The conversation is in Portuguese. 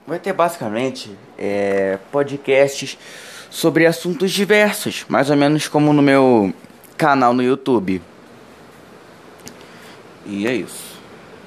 vai ter basicamente podcasts sobre assuntos diversos, mais ou menos como no meu canal no YouTube. E é isso.